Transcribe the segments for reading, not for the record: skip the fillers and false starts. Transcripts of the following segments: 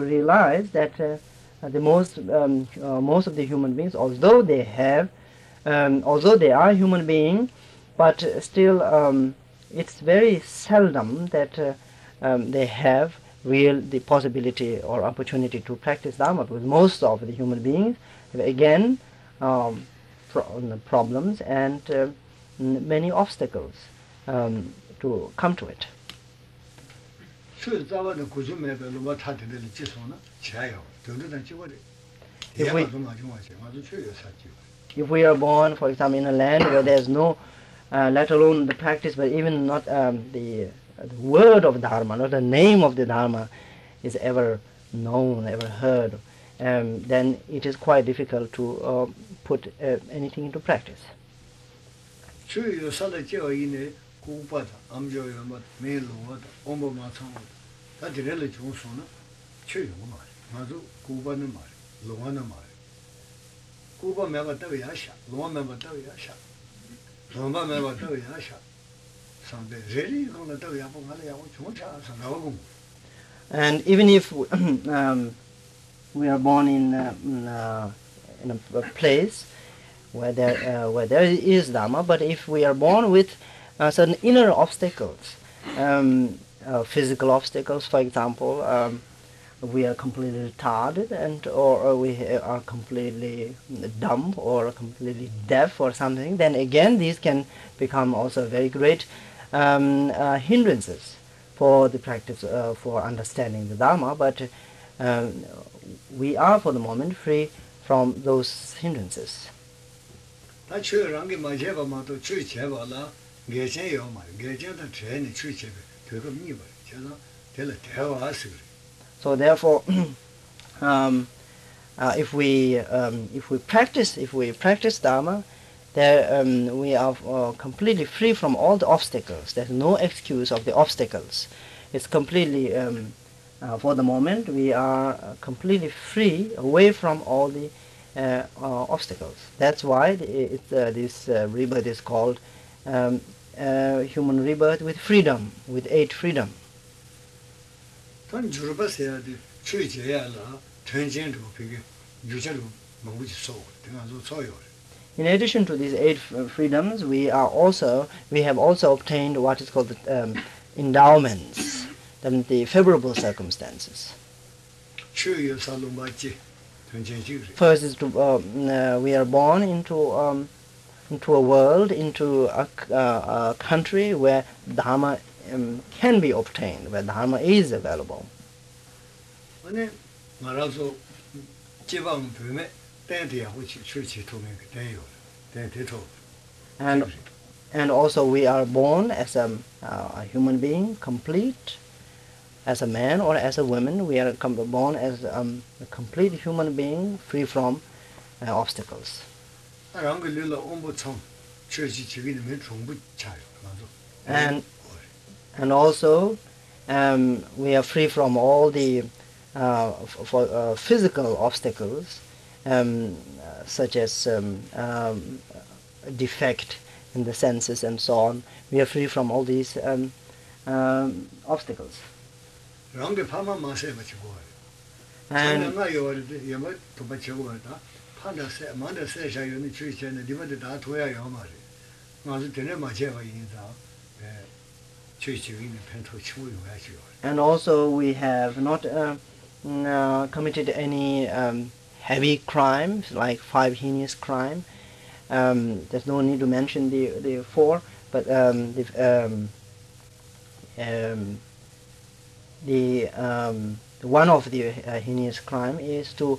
realize that the most of the human beings, although they are human beings, but still it's very seldom that they have the possibility or opportunity to practice Dharma, because most of the human beings have again problems and many obstacles to come to it. If we are born, for example, in a land where there's no, let alone the practice, but even not the word of Dharma, not the name of the Dharma is ever known, ever heard, then it is quite difficult to put anything into practice. And even if we are born in a place where there is Dharma, but if we are born with certain inner obstacles, physical obstacles, for example, we are completely retarded, or we are completely dumb or completely deaf or something, then again these can become also very great hindrances for the practice, for understanding the Dharma, but we are for the moment free from those hindrances. So therefore, if we practice Dharma, there we are completely free from all the obstacles. There's no excuse of the obstacles. It's completely, for the moment, we are completely free, away from all the obstacles. That's why this rebirth is called human rebirth with freedom, with 8 freedom. In addition to these 8 freedoms, we have also obtained what is called the endowments, the favorable circumstances. First is we are born into a world, into a country where Dharma can be obtained, where Dharma is available. And also we are born as a human being, complete, as a man or as a woman. We are born as a complete human being, free from obstacles. And also we are free from all the physical obstacles, such as defect in the senses and so on. We are free from all these obstacles. And also we have not committed any heavy crimes, like 5 heinous crimes. There's no need to mention the 4, but one of the heinous crime is to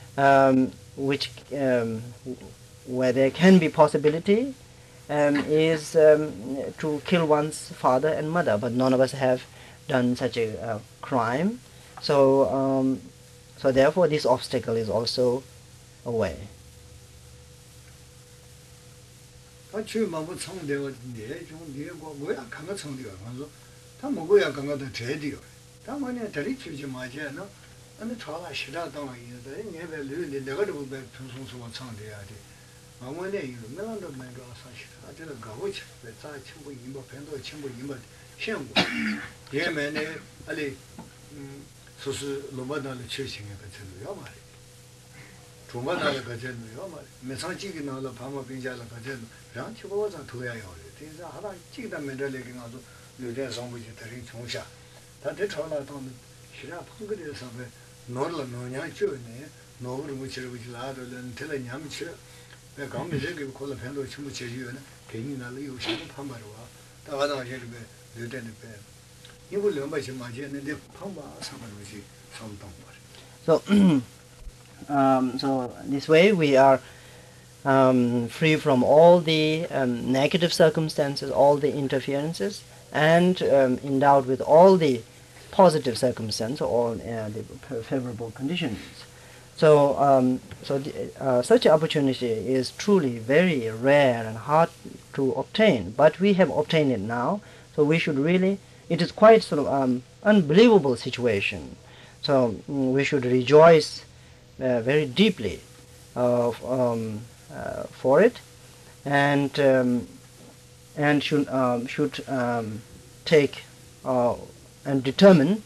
where there can be possibility is to kill one's father and mother, but none of us have done such a crime, so therefore this obstacle is also away. 소수 로바다를 최신의 같은 요마리 조마다를 같은 요마리 매상지기 나라 파마 빙자를 같은 랑치고자 도야요 대사 하나 찍다 면들에게 가서 요새 정부지 다른 총샤 다들 전화도 시라 판거리에서 노르라 노냐 줘네 노르 무치르고 지라도는 틀냐미치 내 강미제기 콜라 팬도 전부 제주는 괜히 나를 요시도 판바로와 다가다 제르베 르데네 배 이걸 넘바지 마지는데 판바 상관없이 성동 So, so this way we are free from all the negative circumstances, all the interferences, and endowed with all the positive circumstances, all the favorable conditions. So, such an opportunity is truly very rare and hard to obtain, but we have obtained it now. So we should really, it is quite sort of unbelievable situation. So we should rejoice very deeply for it, and should take and determine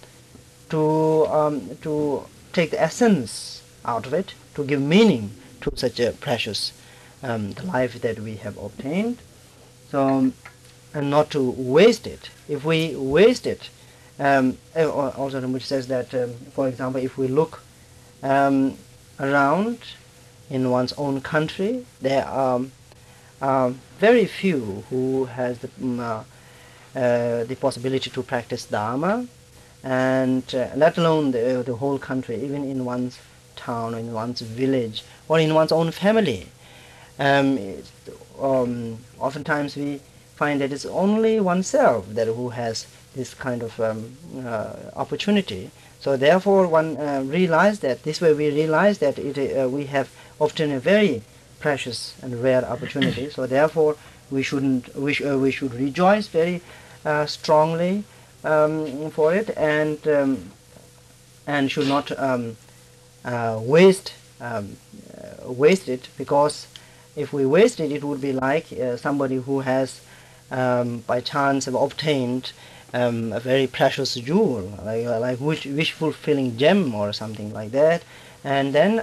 to take the essence out of it, to give meaning to such a precious life that we have obtained. So, and not to waste it. If we waste it, also which says that, for example, if we look around in one's own country, there are very few who has the possibility to practice Dharma, and let alone the whole country, even in one's town, or in one's village, or in one's own family. Oftentimes we find that it's only oneself that who has this kind of opportunity. So therefore one realized that this way we realize that we have obtained a very precious and rare opportunity. So therefore we should rejoice very strongly for it, and should not waste it, because if we waste it, it would be like somebody who has by chance have obtained a very precious jewel, like wish-fulfilling gem or something like that, and then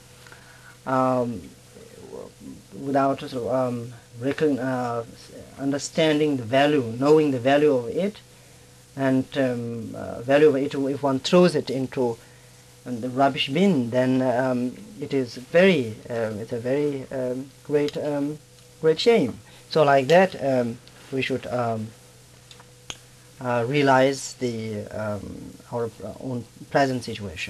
without sort of understanding the value, knowing the value of it, and value of it, if one throws it into the rubbish bin, then it is it's a very great shame. So like that, we should realize our own present situation.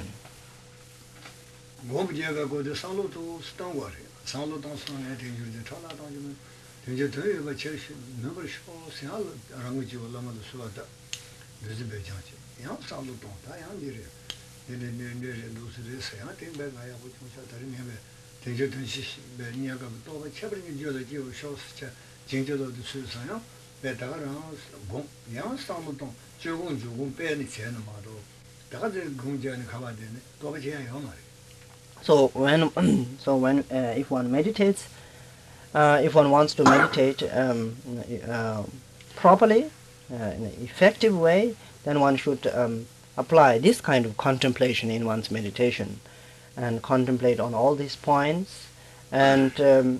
So when if one meditates, if one wants to meditate properly, in an effective way, then one should apply this kind of contemplation in one's meditation, and contemplate on all these points, and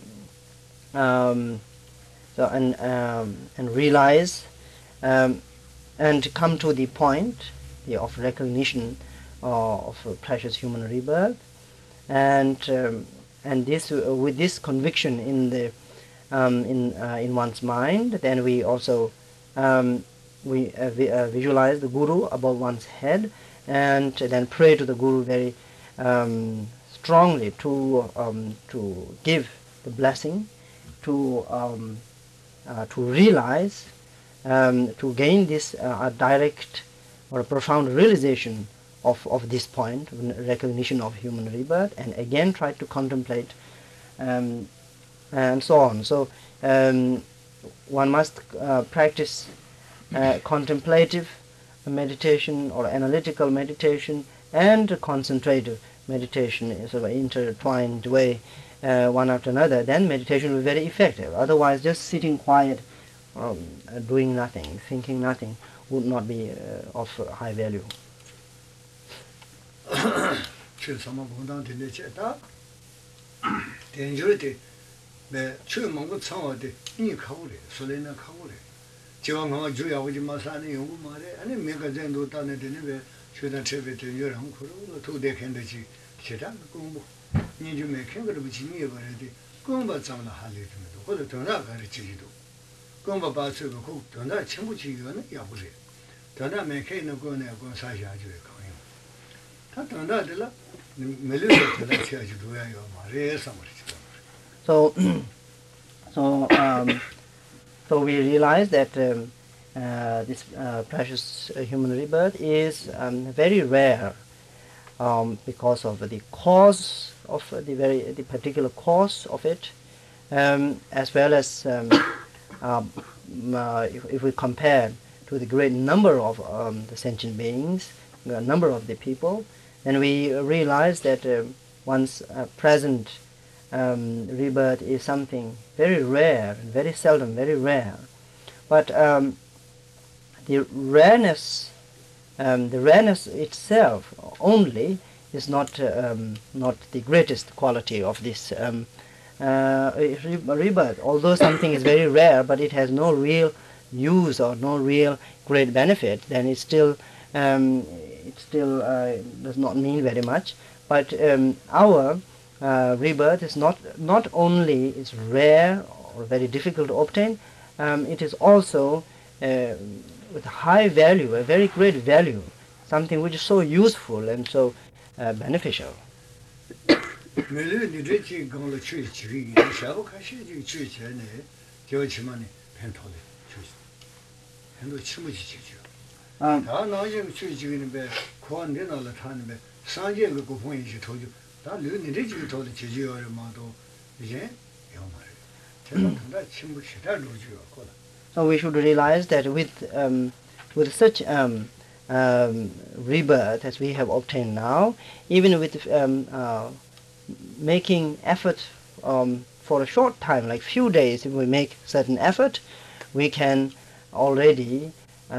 realize and come to the point of recognition of precious human rebirth, and this with this conviction in the in one's mind, then we also visualize the Guru above one's head, and then pray to the Guru very strongly to give the blessing, to realize, to gain this direct or a profound realization of this point, recognition of human rebirth, and again try to contemplate, and so on. So one must practice contemplative meditation or analytical meditation and concentrative meditation in sort of intertwined way, one after another. Then meditation will be very effective. Otherwise, just sitting quiet, doing nothing, thinking nothing, would not be of high value. 출 sama 봉당 되네 제다 된저데 네 출망고 창어데 니 가고래 소리나 가고래 지금 뭐 주야 오지 마사는 연구 말에 아니 내가 전도 따내 되는 왜 최단 최배 된저랑 그러고 도대 캔듯이 제단 공부 니 좀에 캔거를 붙이니 버려지 공부 잡나 할래도或者전화 가르치기도 공부 봐서고 그 전화 친구 지기는 야부래 전화 매케는 거네 거 사셔야죠 거요 다 전화들라 So, so we realize that this precious human rebirth is very rare because of the cause of the particular cause of it, as well as if we compare to the great number of the sentient beings, the number of the people. And we realize that one's present rebirth is something very rare, very seldom, very rare. But the rareness itself only is not the greatest quality of this rebirth. Although something is very rare, but it has no real use or no real great benefit, then it still does not mean very much. But our rebirth is not only is rare or very difficult to obtain, it is also with high value, a very great value, something which is so useful and so beneficial. So we should realize that with such rebirth as we have obtained now, even with making effort for a short time, like few days, if we make certain effort, we can already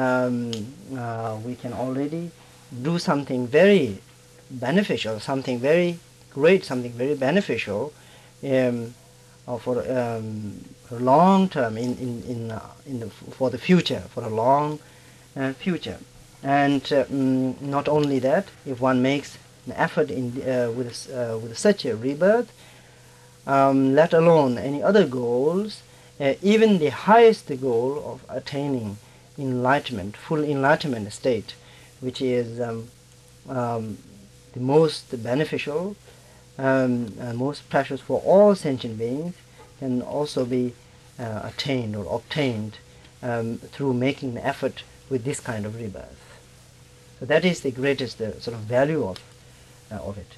do something very beneficial, something very great, something very beneficial for a long term for the future, for a long future. And not only that, if one makes an effort with such a rebirth, let alone any other goals, even the highest goal of attaining enlightenment, full enlightenment state, which is the most beneficial and most precious for all sentient beings, can also be attained or obtained through making an effort with this kind of rebirth. So that is the greatest sort of value of it.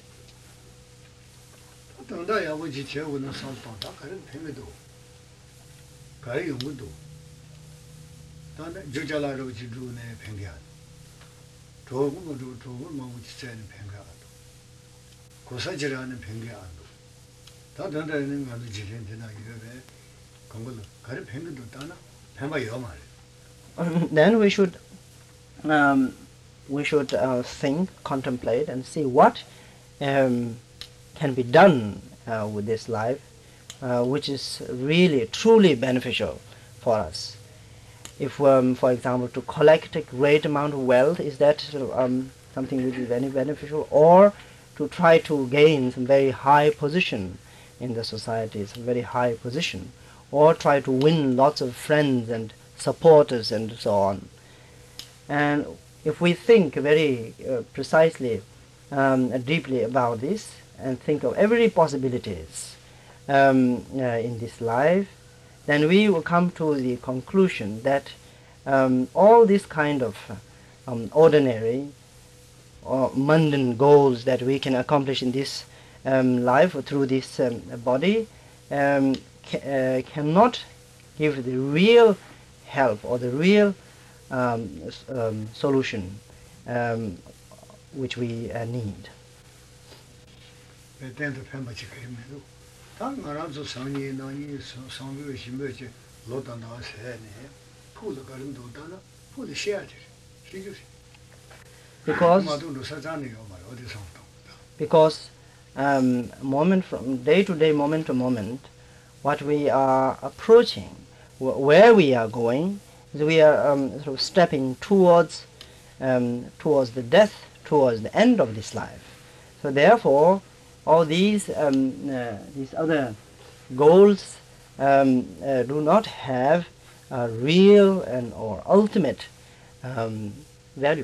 Then we should think, contemplate, and see what can be done with this life, which is really truly beneficial for us. If, for example, to collect a great amount of wealth, is that something which is very beneficial, or to try to gain some very high position in the society, some very high position, or try to win lots of friends and supporters and so on. And if we think very precisely, deeply about this, and think of every possibilities in this life, then we will come to the conclusion that all these kind of ordinary or mundane goals that we can accomplish in this life or through this body cannot give the real help or the real solution which we need. because 마도로 사자네요 말 어디서 because moment from day to day, moment to moment, what we are approaching, where we are going, is we are sort of stepping towards the death, towards the end of this life. So therefore, all these other goals do not have a real and or ultimate value.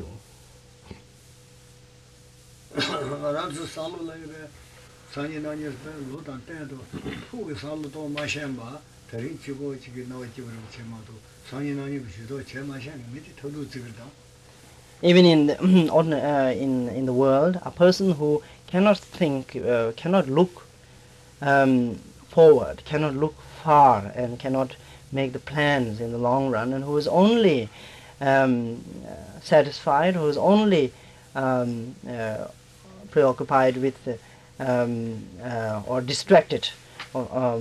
알아서 살로라이베 산이나니스 로단 때도 후게 살로도 마셴바 다른 지고 지게 나와지고 제마도 산이나니 비시도 제마셴 밑에 더도 지거다. Even in the, in the world, a person who cannot think, cannot look forward, cannot look far, and cannot make the plans in the long run, and who is only satisfied, who is only preoccupied with or distracted of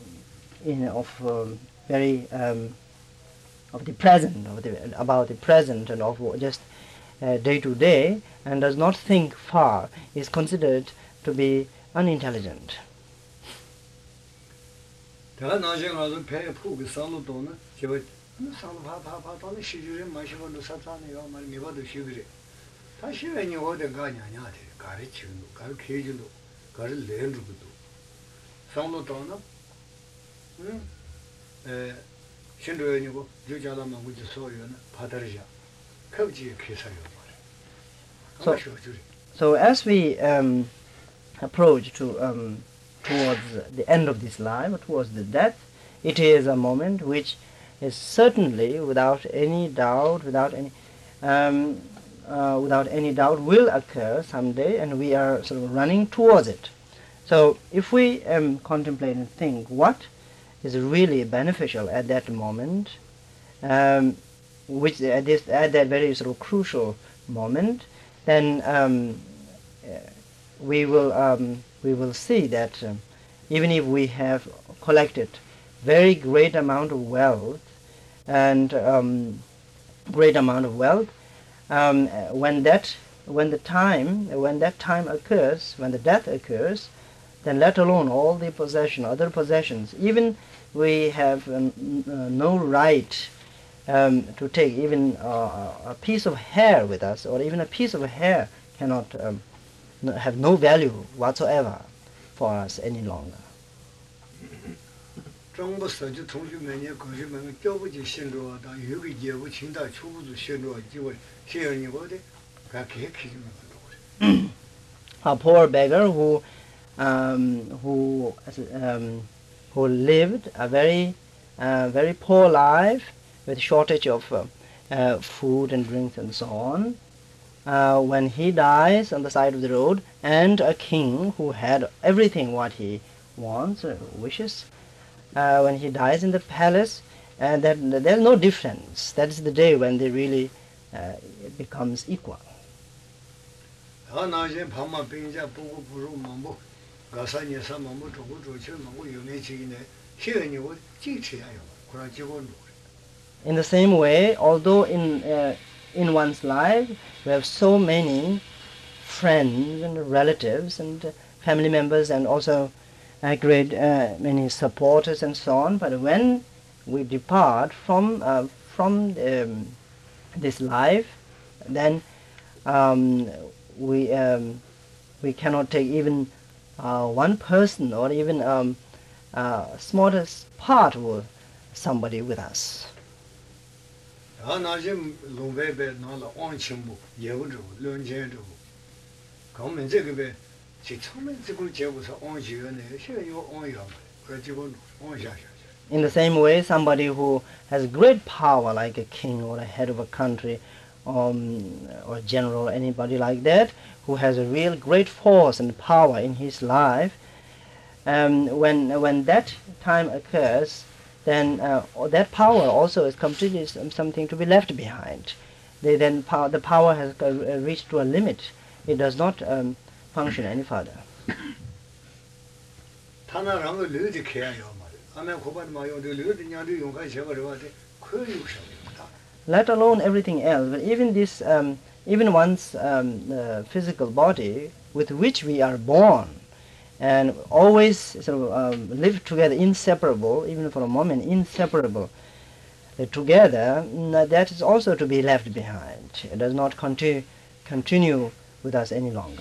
the present, about the present, and of just day to day, and does not think far, is considered to be unintelligent. 내가 나중에 가서 배에 푹 살로도는 제가 살로 파파파도는 시주에 마시고도 사자네요 말 미바도 시그래. 다시 왜니 어디 가냐냐 돼. 가르치는 가르치기도 가를 내는것도 살로도는 신도연이고 저자라만 우지 소유는 바다르자. 겁지 계사요 말. So as we approach towards the end of this life, towards the death, it is a moment which is certainly, without any doubt, without any doubt, will occur someday, and we are sort of running towards it. So, if we contemplate and think what is really beneficial at that moment, which at that very sort of crucial moment, then we will see that even if we have collected very great amount of wealth and when the time occurs, when the death occurs, then let alone all the other possessions, even we have no right to take even a piece of hair with us, or even a piece of hair cannot have no value whatsoever for us any longer. A poor beggar who lived a very poor life with shortage of food and drinks and so on, when he dies on the side of the road, and a king who had everything what he wants or wishes, when he dies in the palace, then there's no difference. That is the day when they really becomes equal. In the same way, although in one's life we have so many friends and relatives and family members, and also great many supporters and so on, but when we depart from this life, then we cannot take even one person, or even smallest part of somebody with us. In the same way, somebody who has great power, like a king or a head of a country, or general, anybody like that, who has a real great force and power in his life, when that time occurs, then that power also is completely something to be left behind. The power has reached to a limit. It does not function any further. Let alone everything else, but even this even one's physical body with which we are born and always sort of live together, inseparable, even for a moment, inseparable together, that is also to be left behind. It does not continue with us any longer.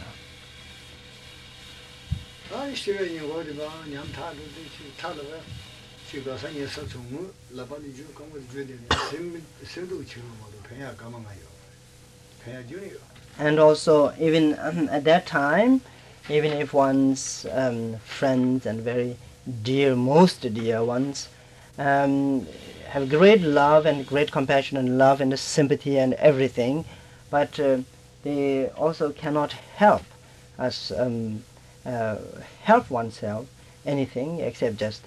And also, even at that time, even if one's friends and very dear, most dear ones, have great love and great compassion and love and sympathy and everything, but they also cannot help us help oneself anything except just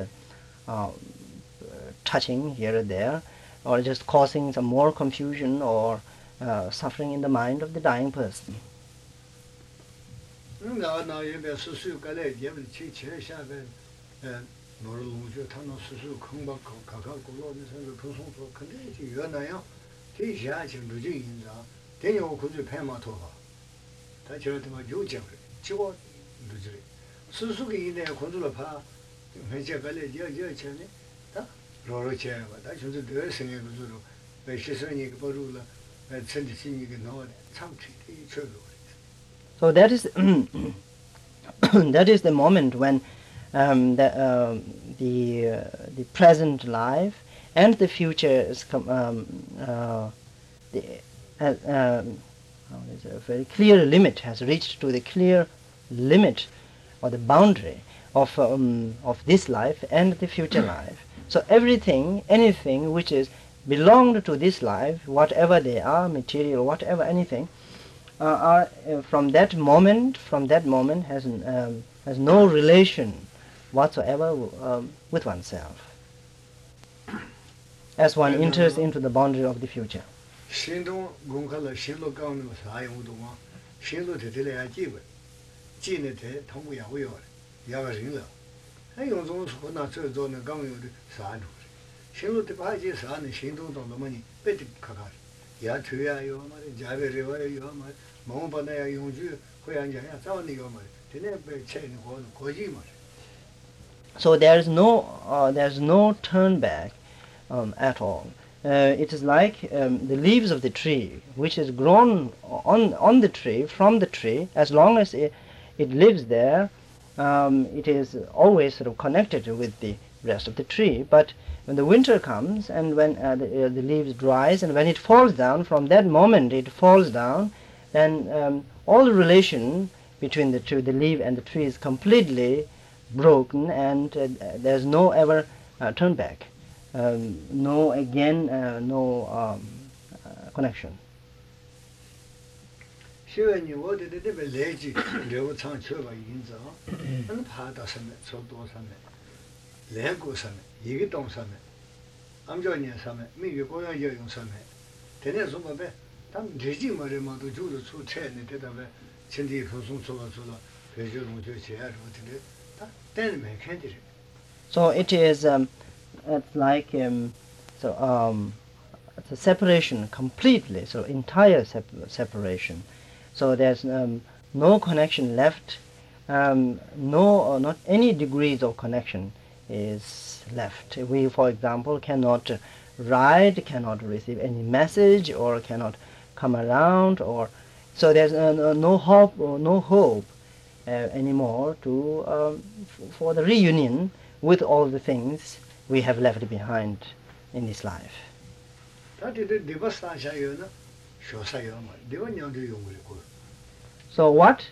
touching here and there, or just causing some more confusion or suffering in the mind of the dying person. So that is that is the moment when the present life and the future is a very clear limit, has reached to the clear limit or the boundary of this life and the future life. So everything, anything which is belonged to this life, whatever they are, material, whatever, anything, are from that moment has no relation whatsoever with oneself as one enters into the boundary of the future. So there's no turn back at all. It is like the leaves of the tree, which is grown on the tree, from the tree. As long as it lives there, it is always sort of connected with the rest of the tree. But when the winter comes and when the leaves dries and when it falls down, from that moment it falls down, then all the relation between the two, the leaf and the tree, is completely broken, and there's no ever turn back, no connection. So it is it's like it's a separation completely, so entire separation. So there's no connection left, not any degrees of connection is left. We, for example, cannot write, cannot receive any message, or cannot come around, or so there's no hope anymore for the reunion with all the things we have left behind in this life. So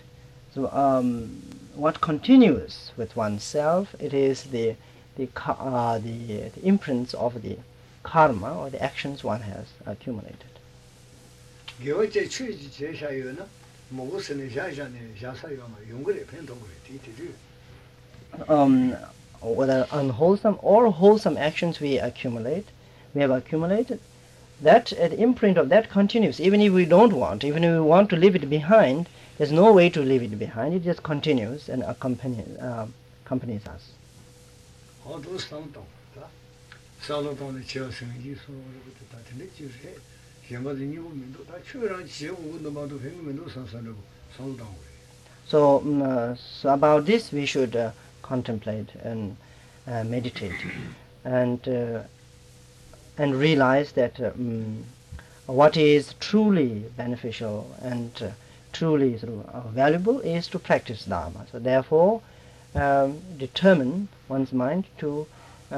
what continues with oneself? It is the imprints of the karma, or the actions one has accumulated. Whether unwholesome or wholesome actions we have accumulated, that the imprint of that continues. Even if we don't want, even if we want to leave it behind, there's no way to leave it behind. It just continues and accompanies us. So about this we should contemplate and meditate and realize that what is truly beneficial and truly valuable is to practice Dharma. So therefore, determine one's mind to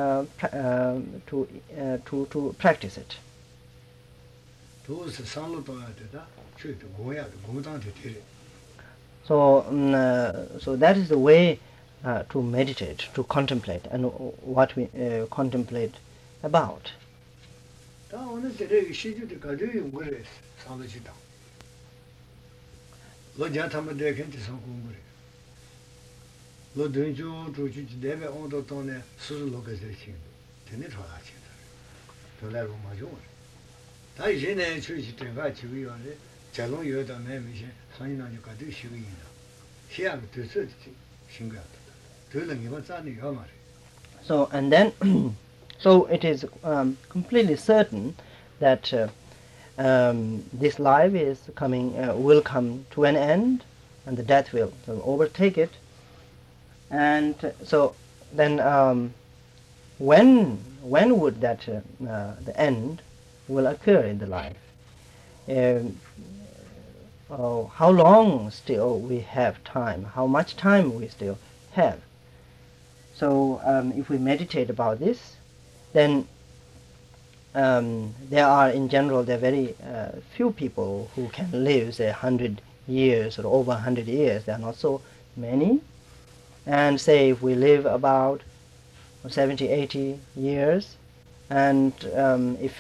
practice it. So that is the way to meditate, to contemplate, and what we contemplate about. So and then so it is completely certain that this life is will come to an end, and the death will overtake it. And so then when would that the end will occur in the life? How long still we have time? How much time we still have? So if we meditate about this, then there are very few people who can live, say, 100 years or over 100 years. There are not so many. And say if we live about 70, 80 years, and if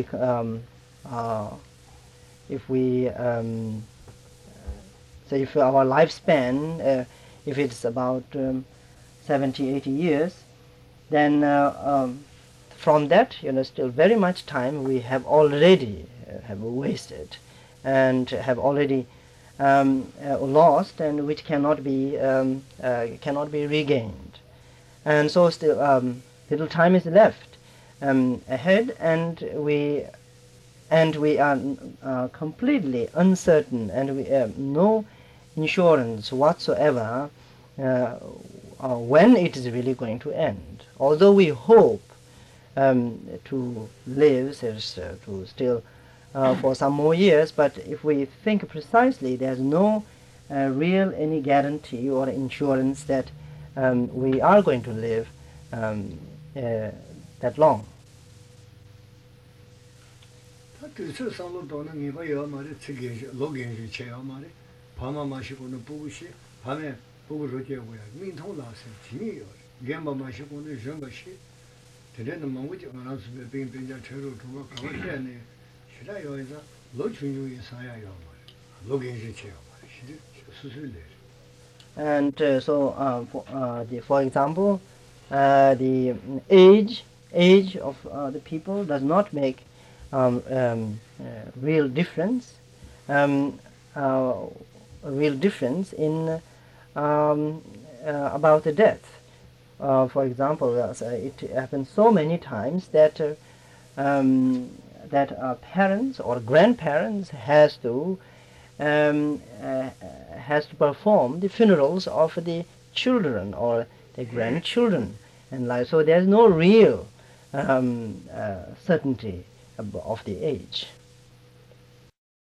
our lifespan, if it's about 70, 80 years, then from that, still very much time we have already have wasted, and have already lost, and which cannot be regained. And so still little time is left ahead, and we are completely uncertain, and we have no insurance whatsoever when it is really going to end. Although we hope to live to still for some more years, but if we think precisely, there's no real any guarantee or insurance that we are going to live that long. And for example, the age of the people does not make real difference in about the death. For example, it happens so many times that parents or grandparents has to perform the funerals of the children or the grandchildren, and so there's no real certainty of the age.